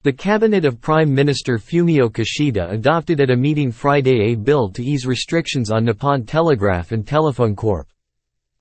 The cabinet of Prime Minister Fumio Kishida adopted at a meeting Friday a bill to ease restrictions on Nippon Telegraph and Telephone Corp.